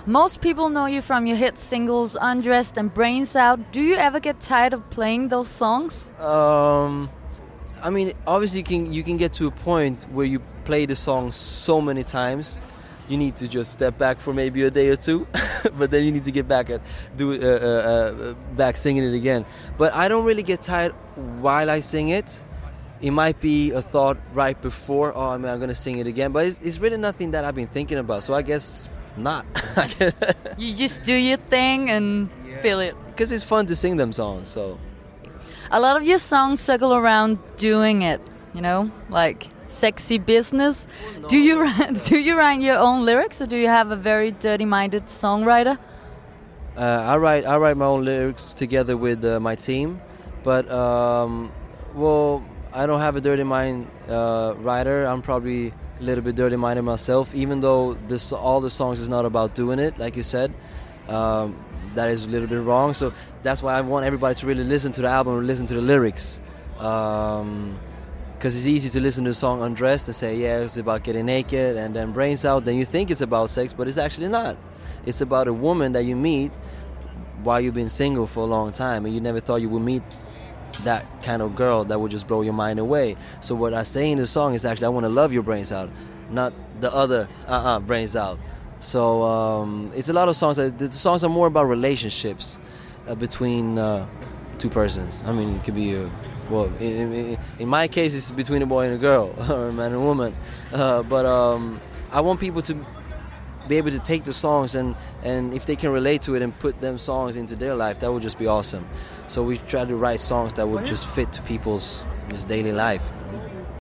Most people know you from your hit singles Undressed and Brains Out. Do you ever get tired of playing those songs? I mean, obviously you can get to a point where you play the song so many times, you need to just step back for maybe a day or two, but then you need to get back and back singing it again. But I don't really get tired while I sing it. It might be a thought right before, oh, I'm going to sing it again, but it's really nothing that I've been thinking about, so I guess not. You just do your thing and feel it. Because it's fun to sing them songs, so... A lot of your songs circle around doing it, you know, like sexy business. No. Do you write your own lyrics, or do you have a very dirty-minded songwriter? I write my own lyrics together with my team, but well, I don't have a dirty mind writer. I'm probably a little bit dirty-minded myself, even though all the songs is not about doing it, like you said. That is a little bit wrong, so that's why I want everybody to really listen to the album and listen to the lyrics, because it's easy to listen to the song Undressed and say, yeah, it's about getting naked, and then Brains Out, then you think it's about sex, but it's actually not. It's about a woman that you meet while you've been single for a long time, and you never thought you would meet that kind of girl that would just blow your mind away. So what I say in the song is actually, I want to love your brains out, not the other brains out. So it's a lot of songs. The songs are more about relationships between two persons. I mean, it could be in my case, it's between a boy and a girl, or a man and a woman. But I want people to be able to take the songs and if they can relate to it and put them songs into their life, that would just be awesome. So we try to write songs that would just fit to people's just daily life.